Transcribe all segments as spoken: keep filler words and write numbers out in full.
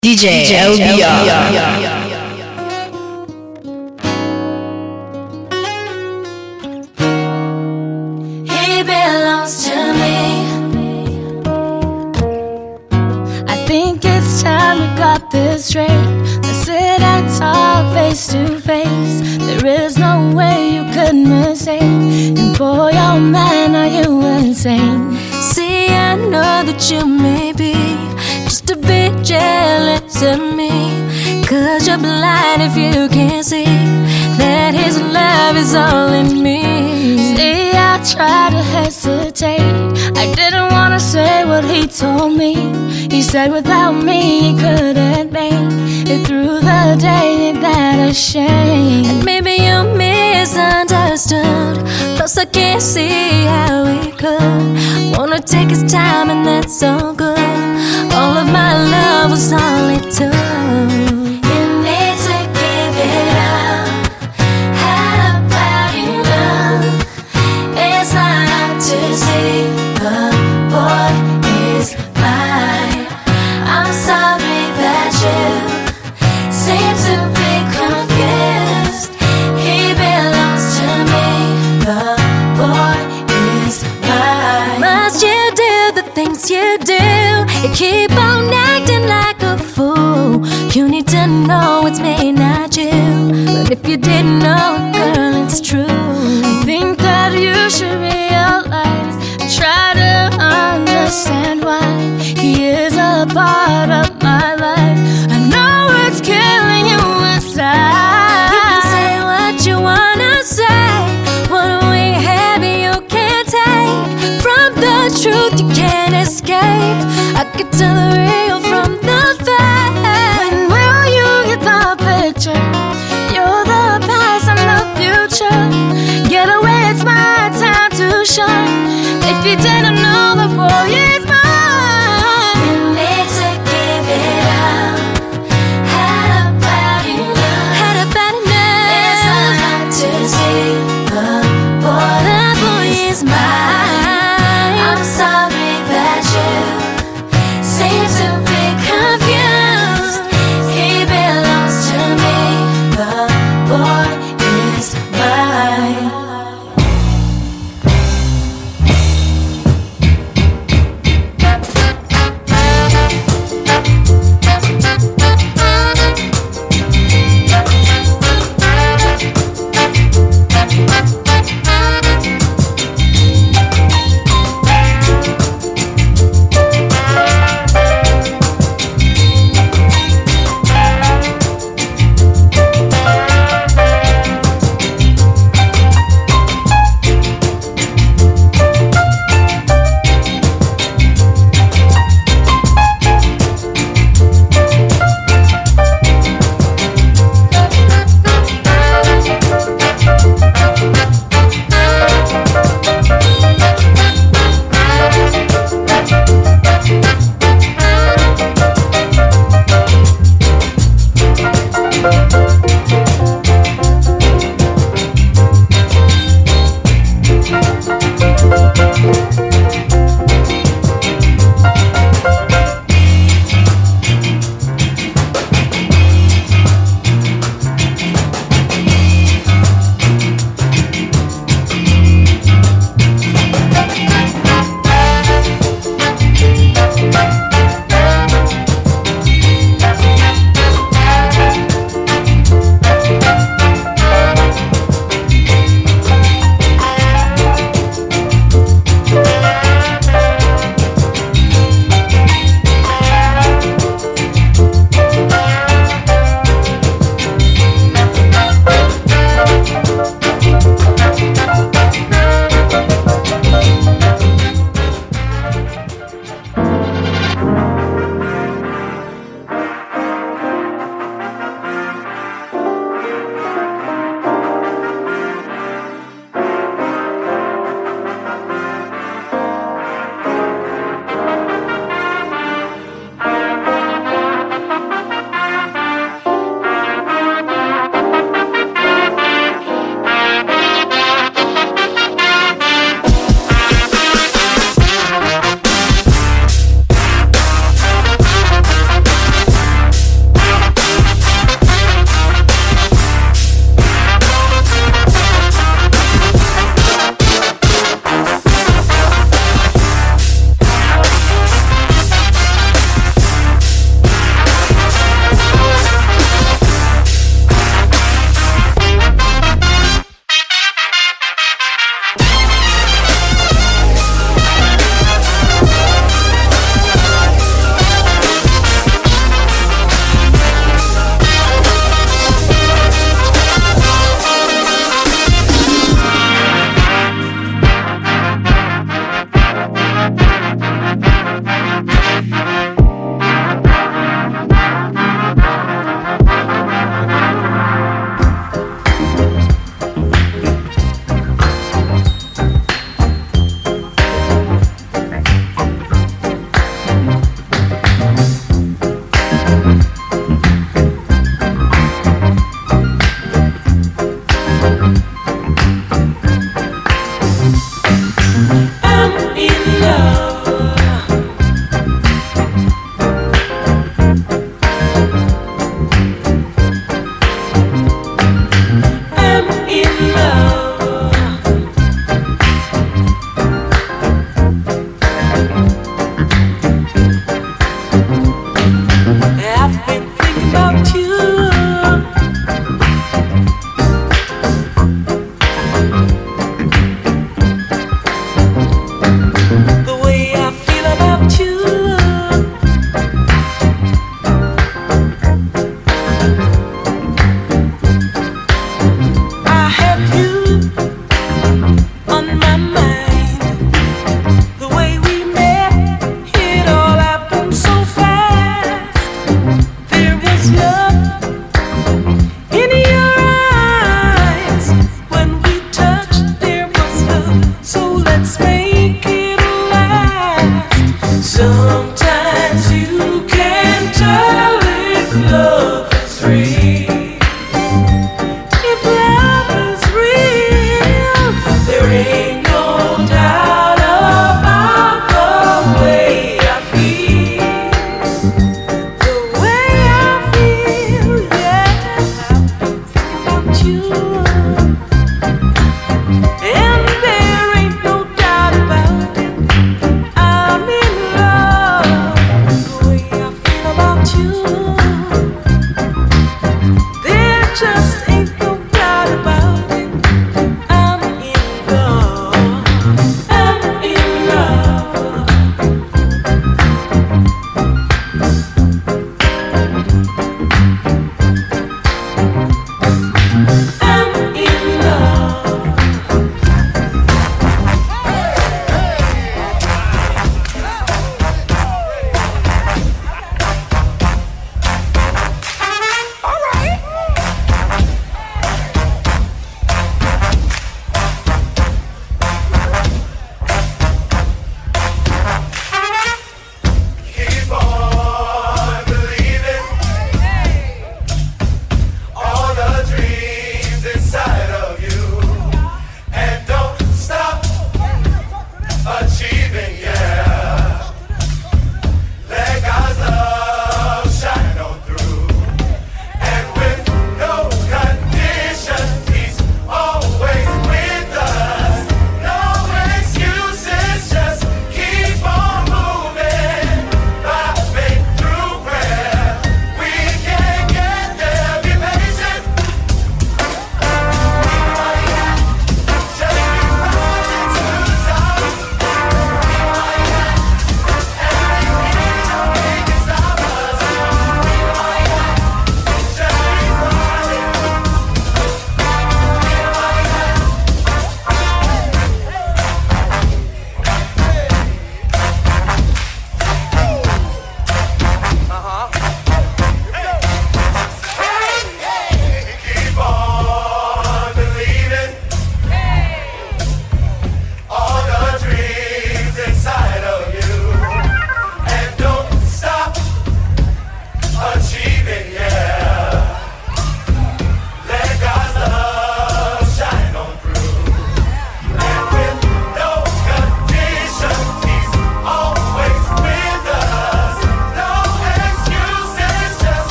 D J L B R. He belongs to me. I think it's time we got this straight. Let's sit and talk face to face. There is no way you could mistake. And boy, oh man, are you insane. See, I know that you may be just a bit jealous of me, 'cause you're blind if you can't see that his love is all in me. See, I tried to hesitate. I didn't wanna say what he told me. He said without me he couldn't make it through the day. Ain't that a shame? And maybe you misunderstood. Plus I can't see how we could wanna take his time, and that's so good. All of my love was all it took. You need to give it up. How about you love? It's not hard to see the boy is mine. I'm sorry that you seem to be confused. He belongs to me. The boy is mine. Must you do the things you do? You keep on acting like a fool. You need to know it's me, not you. But if you didn't know it, girl, it's true. I think that you should realize and try to understand why he is a part of my life. I know it's killing you inside. You can say what you wanna say. What we have you can't take. From the truth you can't escape. I can tell the real from the fake. When will you get the picture? You're the past and the future. Get away, it's my time to shine. If you didn't know, the boy is mine. You need to give it up. How about you love? How about enough? It's not hard to see the boy, the boy is mine. I'm sorry that you seem to be confused. He belongs to me. The boy is mine.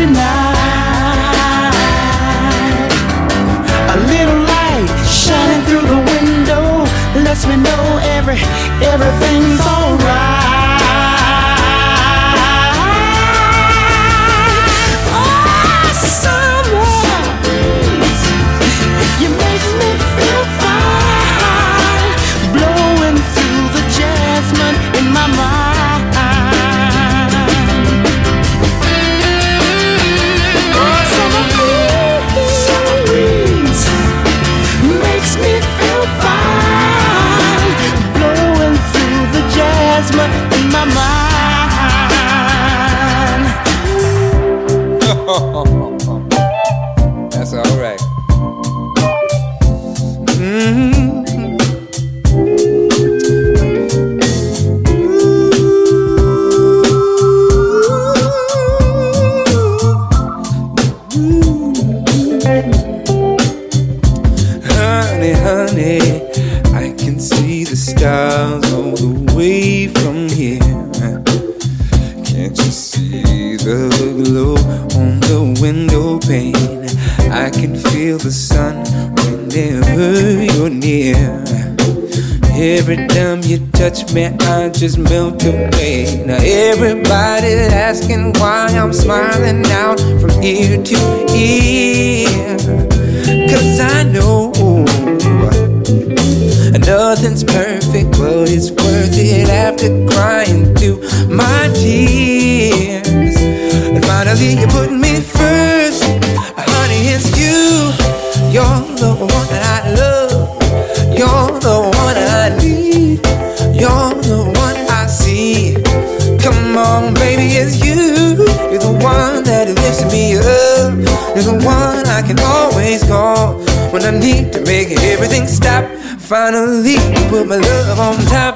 starry night. A little light shining through the window lets me know every everything's alright. In my mind. That's all right. Mm-hmm. Honey, honey, I can see the stars all the way from here. Can't you see the glow on the window pane? I can feel the sun whenever you're near. Every time you touch me, I just melt away. Now everybody's asking why I'm smiling now from ear to ear. Cause I know nothing's perfect, but it's worth it after crying through my tears. And finally you put me first. Honey, it's you. You're the one that I love. You're the one I need. You're the one I see. Come on, baby, it's you. You're the one that lifts me up. You're the one I can always call when I need to make everything stop. Finally, you put my love on top.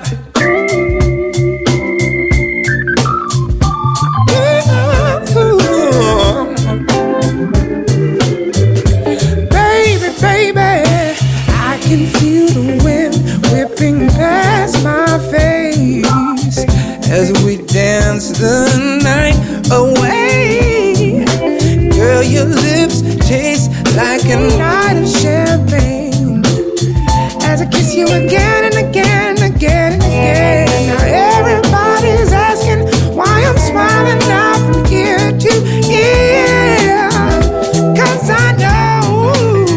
Baby, baby, I can feel the wind whipping past my face as we dance the night away. Girl, your lips taste like a night of champagne as I kiss you again and again and again and again. Now everybody's asking why I'm smiling now from ear to ear. Cause I know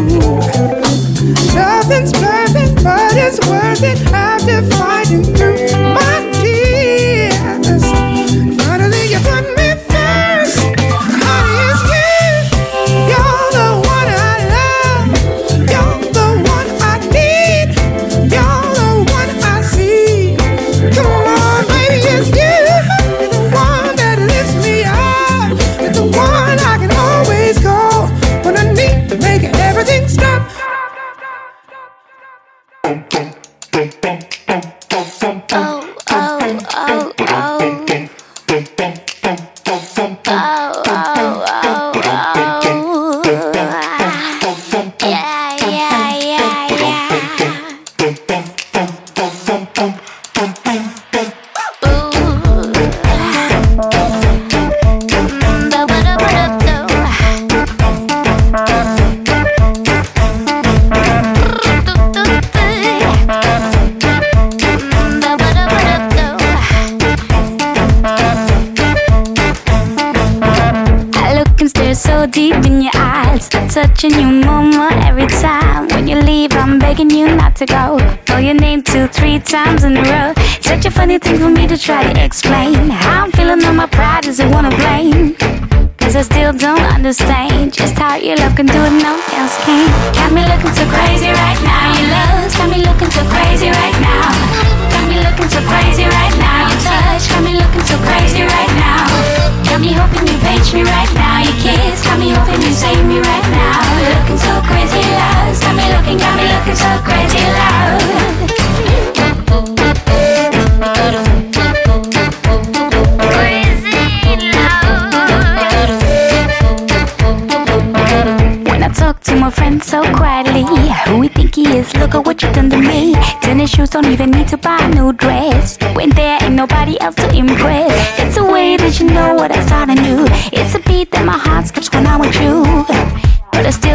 nothing's perfect, but it's worth it after fighting through my tears. Finally you put me first. Honey, it's you. You're the one I love. You're the one I need. You're the one I see. Come on, baby, it's you. You're the one that lifts me up. You're the one I can always call when I need to make everything stop. Oh, oh, oh, oh. Oh, oh, oh, oh. Yeah, yeah, yeah, yeah. So deep in your eyes, touching you more, more every time. When you leave, I'm begging you not to go. Know your name two, three times in a row. Such a funny thing for me to try to explain. How I'm feeling on my pride, does it wanna blame? Cause I still don't understand just how your love can do it, no else can. Got me looking so crazy right now. Your love's got me looking so crazy right now. Got me looking so crazy right now. Your touch got me looking so crazy right now. Got me hoping you page me right now. Your kiss got me hoping you save me right now. Looking so crazy loud. Got me looking, got me looking so crazy loud. When I talk to my friend so quietly, who we think he is, look at what you done to me. Tennis shoes, don't even need to buy a new dress. When there ain't nobody else to impress. It's a way that you know what I thought I knew. It's a beat that my heart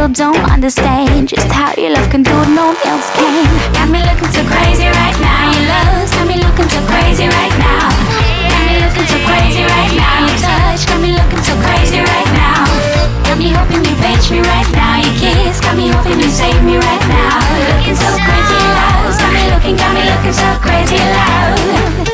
still don't understand just how your love can do what no one else can. Got me looking so crazy right now. Your love's got me looking so crazy right now. Got me looking so crazy right now. Your touch got me looking so crazy right now. Got me hoping you fetch me right now. Your kiss got me hoping you save me right now. Looking so crazy loud. Got me looking, got me looking so crazy loud.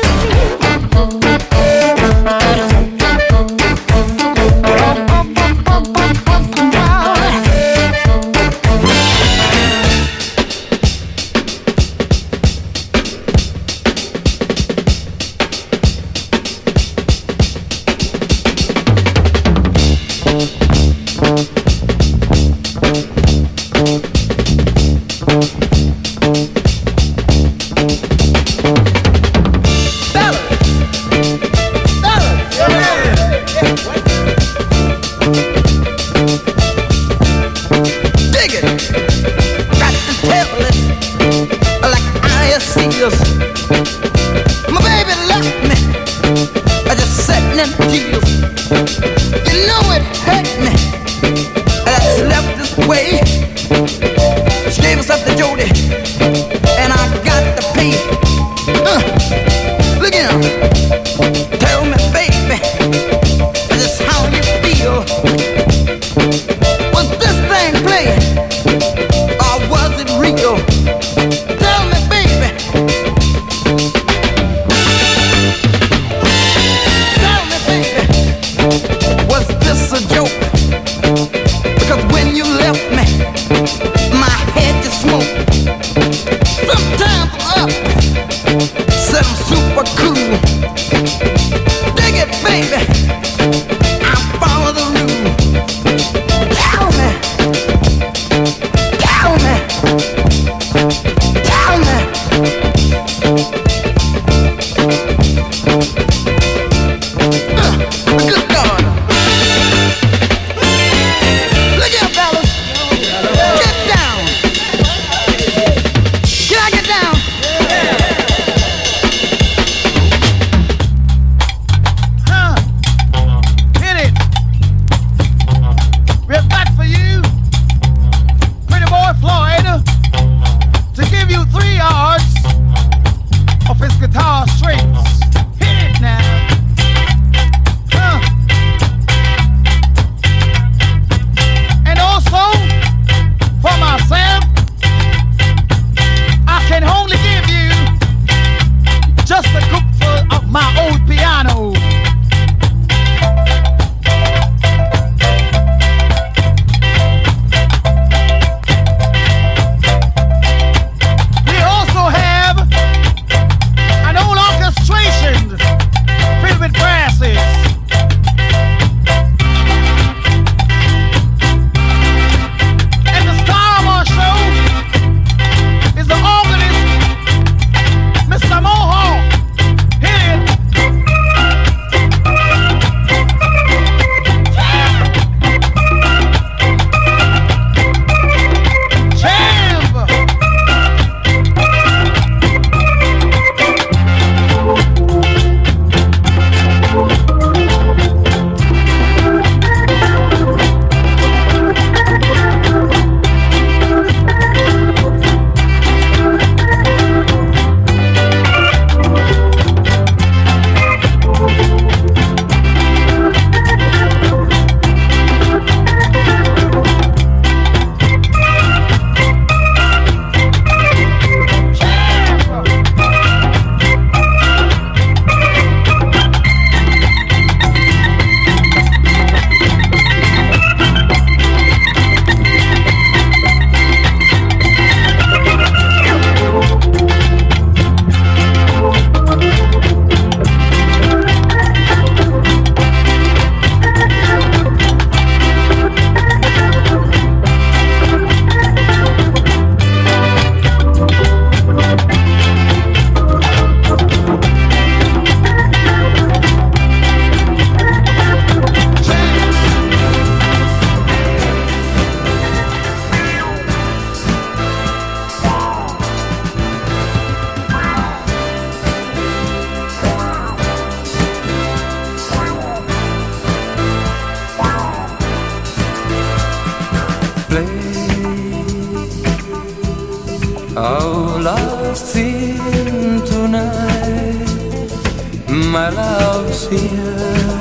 lost in tonight. My love's here.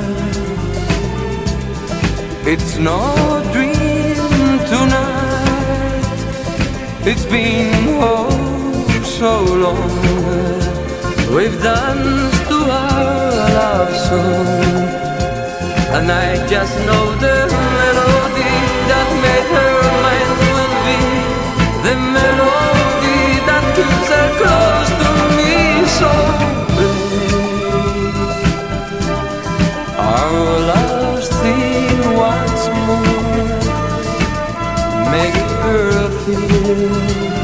It's no dream tonight. It's been oh so long. We've danced to our love song, and I just know the melody that made her mind will be the melody that keeps her close to me. So babe, our love's theme once more. Make her feel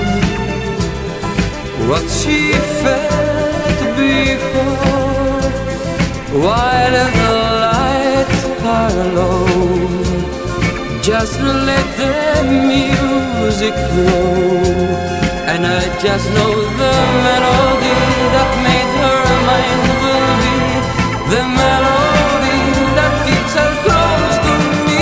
what she felt before, while the lights are low. Just let the music flow, and I just know the melody that made her mind will be the melody that keeps her close to me.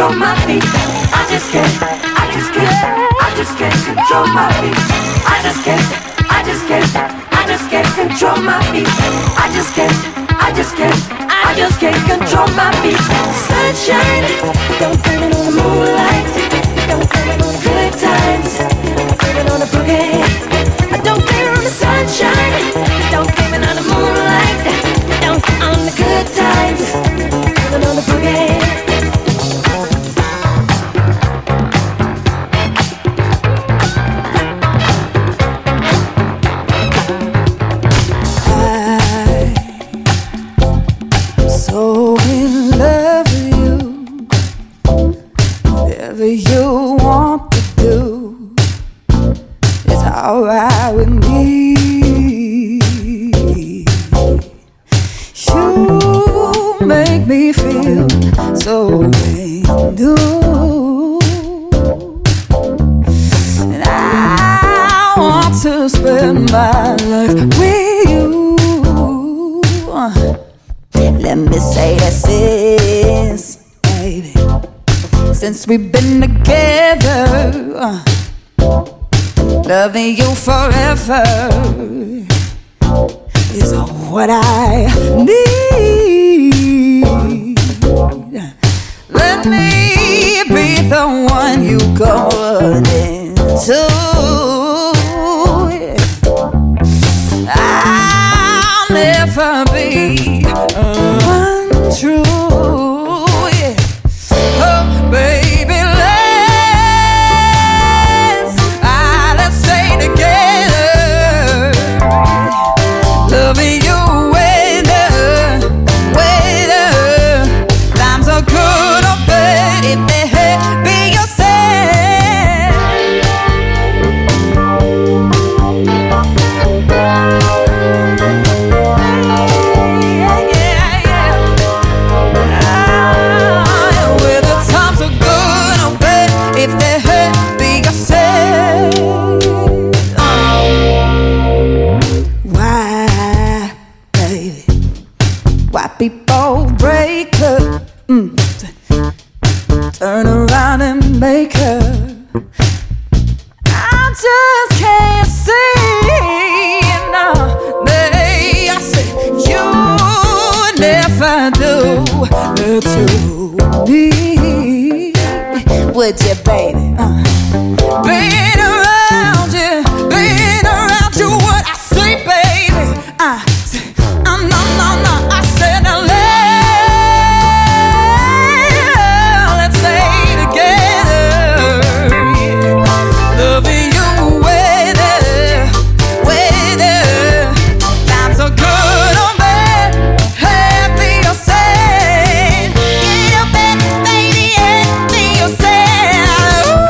control my feet. I just can't, I just can't, I just can't control my feet. I just can't, I just can't, I just can't control my feet. I just can't, I just can't, I just can't control my feet. Sunshine, don't blame it on the moonlight. Don't blame it on the good times. Don't blame it on the boogie. Don't blame it on the sunshine. Don't blame it on the moonlight. Don't on the good times. Blame it on the boogie. So in love with you, whatever you want to do is alright with me. You make me feel so brand new, and I want to spend my life with you. Let me say this is, baby, since we've been together, uh, loving you forever is what I need. Let me be the one you go into. I'll never be untrue. Yeah. Oh, baby, let's ah, let's stay together. Loving you whether, whether times are good or bad. If they hurt, be yourself. If they hurt, be yourself. Oh. Why, baby? Why people break up? Mm. Turn around and make her. I just can't see. No, they, I said you never do it to me. Would you, baby? Uh. Being around you, being around you, what I say, baby? Uh, uh, no, no, no, I said, now let, let's stay together. Yeah. Loving you, whether, whether times are good or bad, happy or sad. Get up and baby, and be yourself.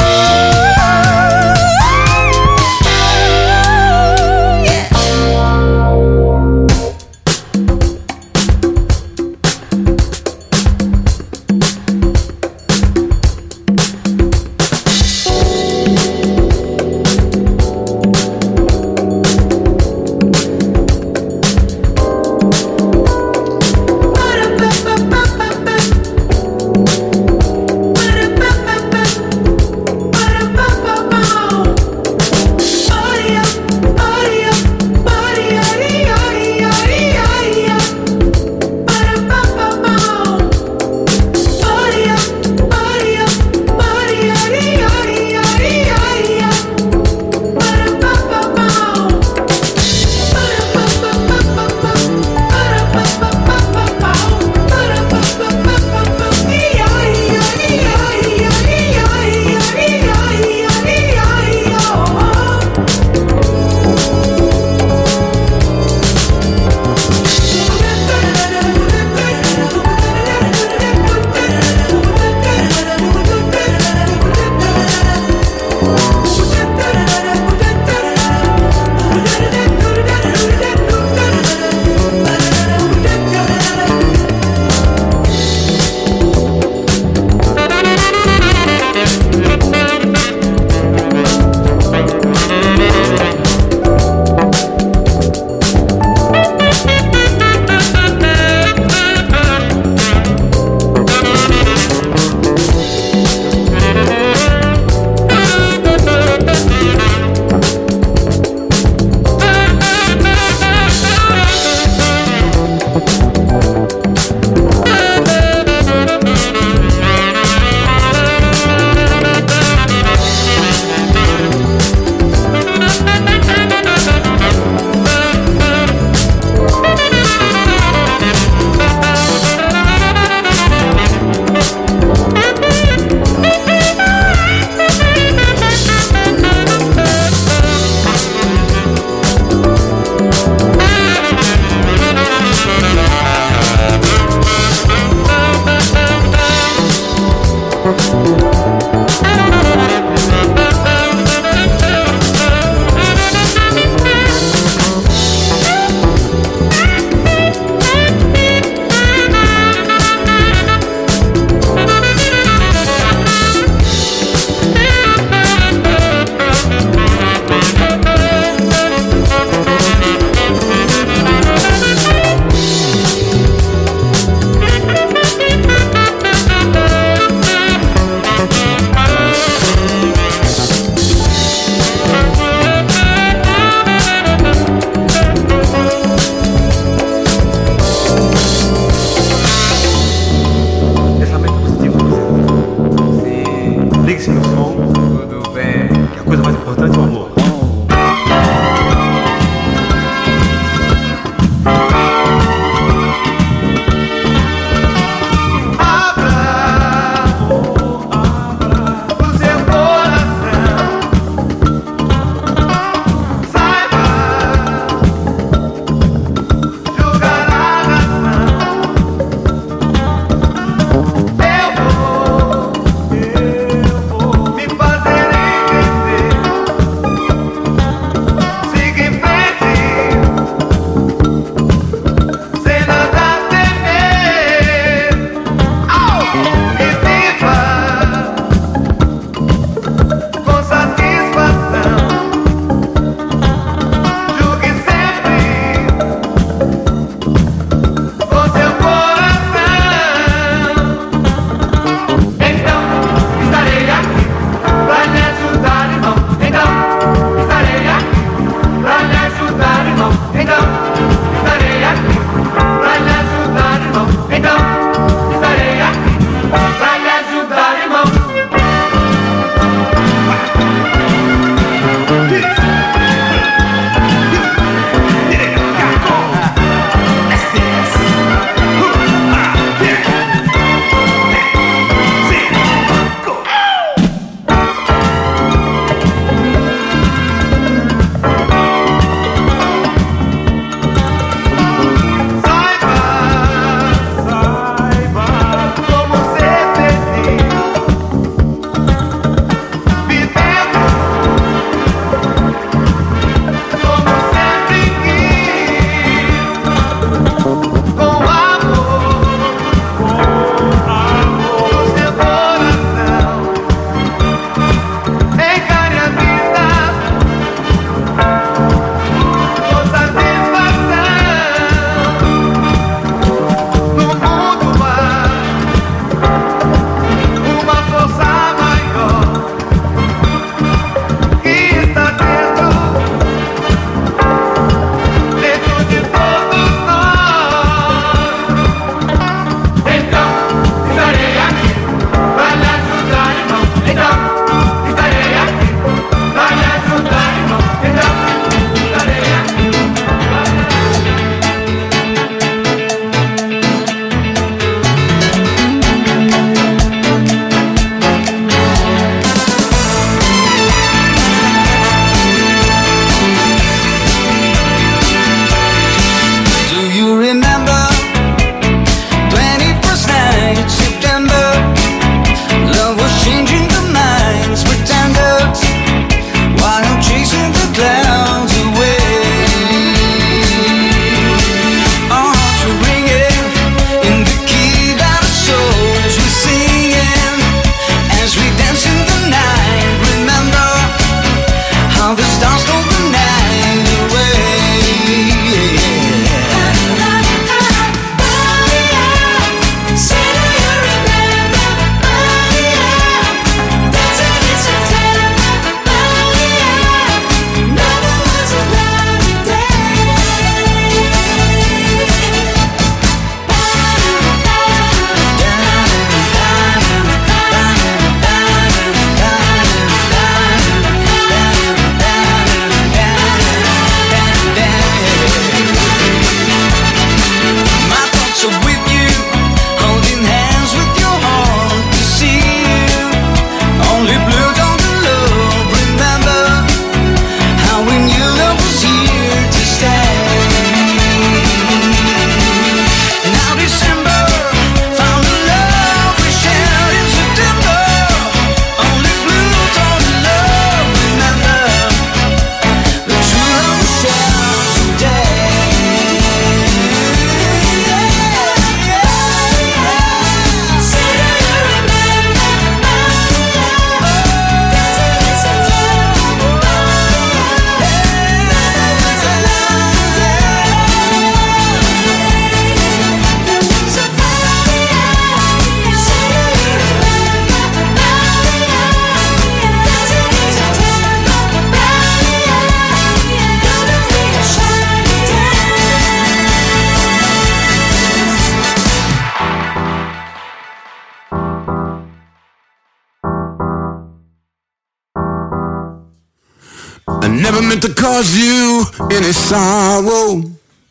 never meant to cause you any sorrow.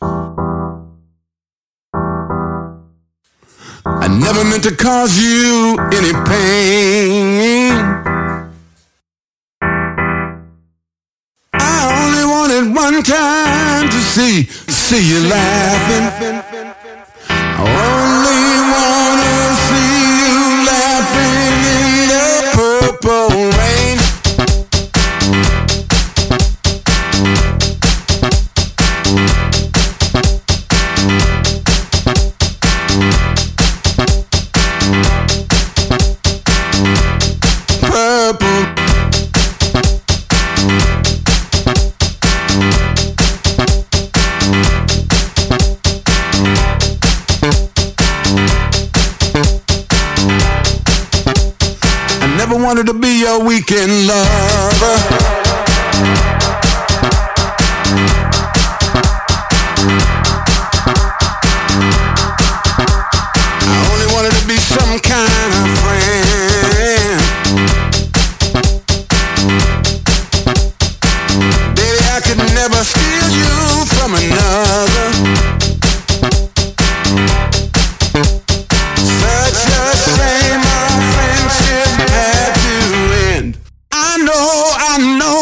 I never meant to cause you any pain. I only wanted one time to see, see you laughing. I only wanna see you laughing in the purple rain. Purple. I never wanted to be your weekend lover. I only wanted to be some kind of friend. Baby, I could never steal you from another. Such a shame our friendship had to end. I know, I know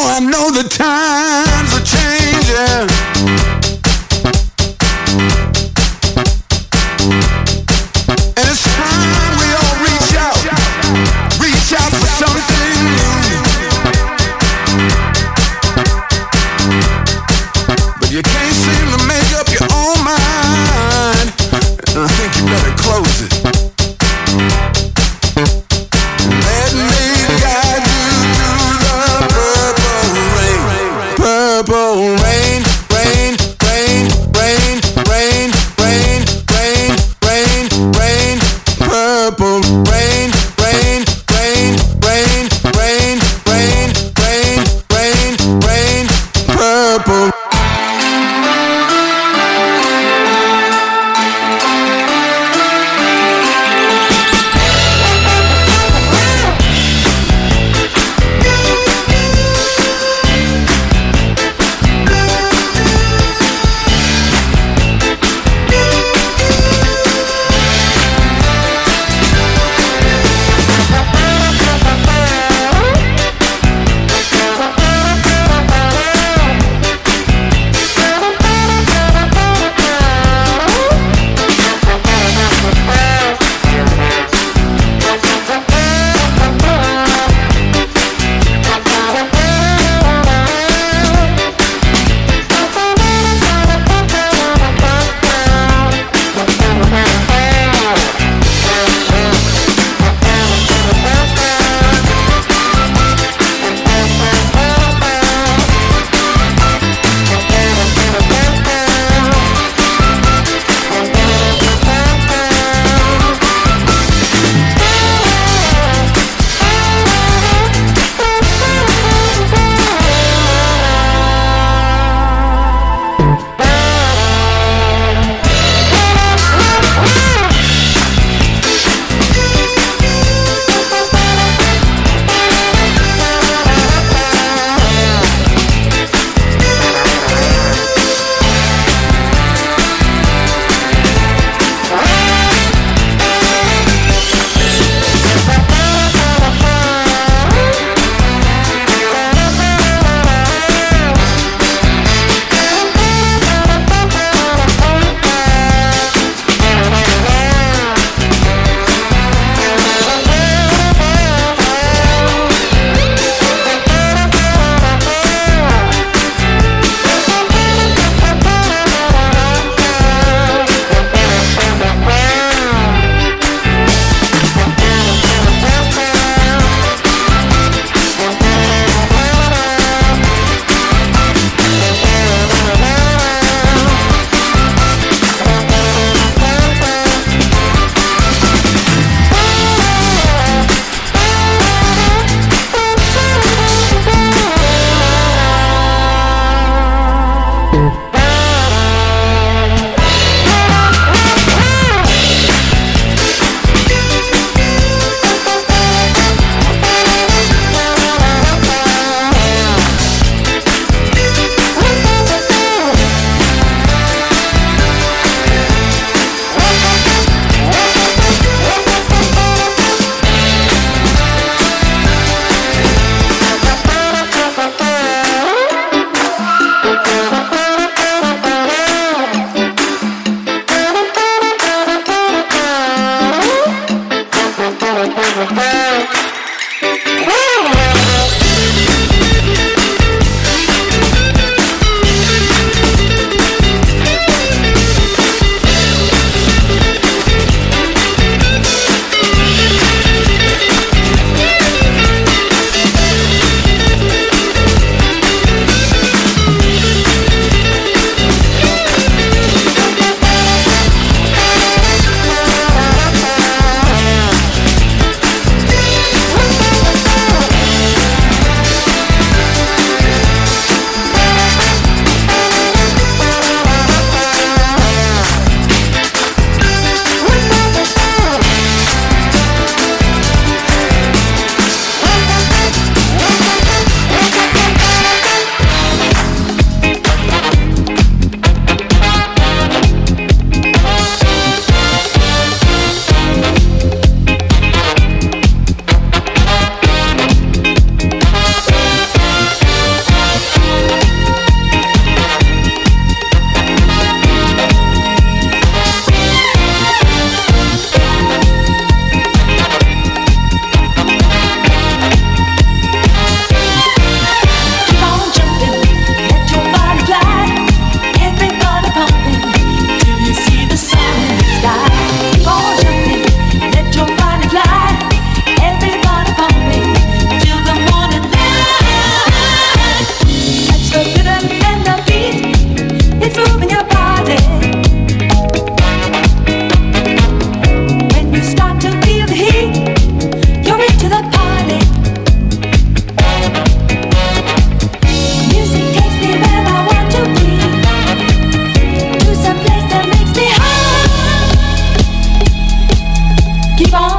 Keep on